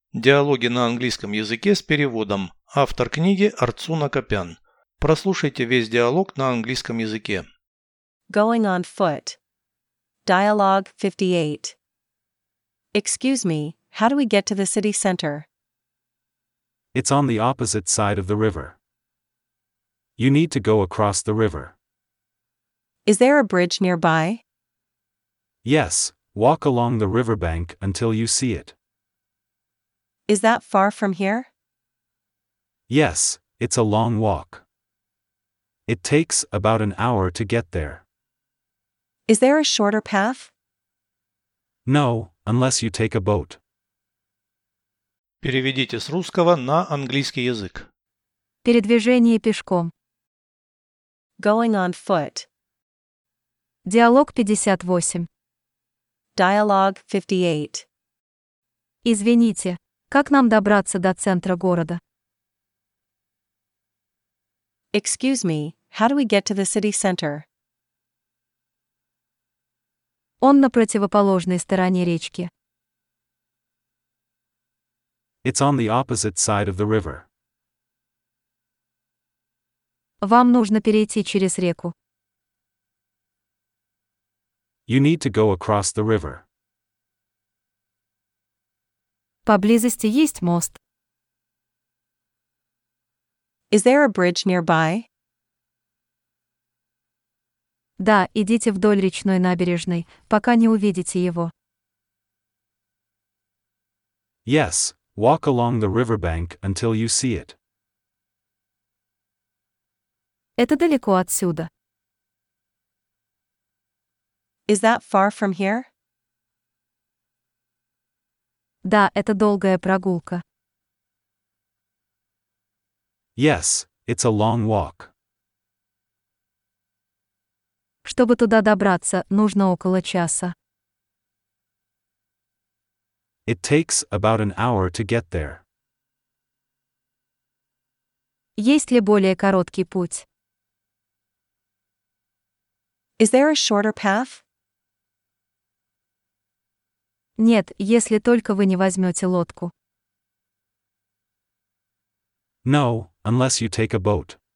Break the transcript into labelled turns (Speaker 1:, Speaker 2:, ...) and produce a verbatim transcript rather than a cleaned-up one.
Speaker 1: Диалоги на английском языке с переводом. Автор книги Арцуна Копян. Прослушайте весь диалог на английском языке.
Speaker 2: Going on foot. Dialogue fifty-eight. Excuse me, how do we get to the city center?
Speaker 3: It's on the opposite side of the river. You need to go across the river.
Speaker 2: Is there a bridge nearby?
Speaker 3: Yes, walk along the riverbank until you see it.
Speaker 2: Is that far from here?
Speaker 3: Yes, it's a long walk. It takes about an hour to get there.
Speaker 2: Is there a shorter path?
Speaker 3: No, unless you take a boat.
Speaker 1: Переведите с русского на английский язык.
Speaker 4: Передвижение пешком.
Speaker 2: Going on foot.
Speaker 4: Диалог пятьдесят восемь.
Speaker 2: Dialogue fifty-eight.
Speaker 4: Извините, как нам добраться до центра города?
Speaker 2: Excuse me, how do we get to the city center?
Speaker 4: Он на противоположной стороне речки.
Speaker 3: It's on the opposite side of the river.
Speaker 4: Вам нужно перейти через реку.
Speaker 3: You need to go across the river.
Speaker 4: Поблизости есть мост.
Speaker 2: Is there a bridge nearby?
Speaker 4: Да, идите вдоль речной набережной, пока не увидите его.
Speaker 3: Yes, walk along the riverbank until you see it.
Speaker 4: Это далеко отсюда.
Speaker 2: Is that far from here?
Speaker 4: Да, это долгая прогулка.
Speaker 3: Yes, it's a long walk.
Speaker 4: Чтобы туда добраться, нужно около часа.
Speaker 3: It takes about an hour to get there.
Speaker 4: Есть ли более короткий путь?
Speaker 2: Is there a shorter path?
Speaker 4: Нет, если только вы не возьмете лодку.
Speaker 3: No, unless you take a boat.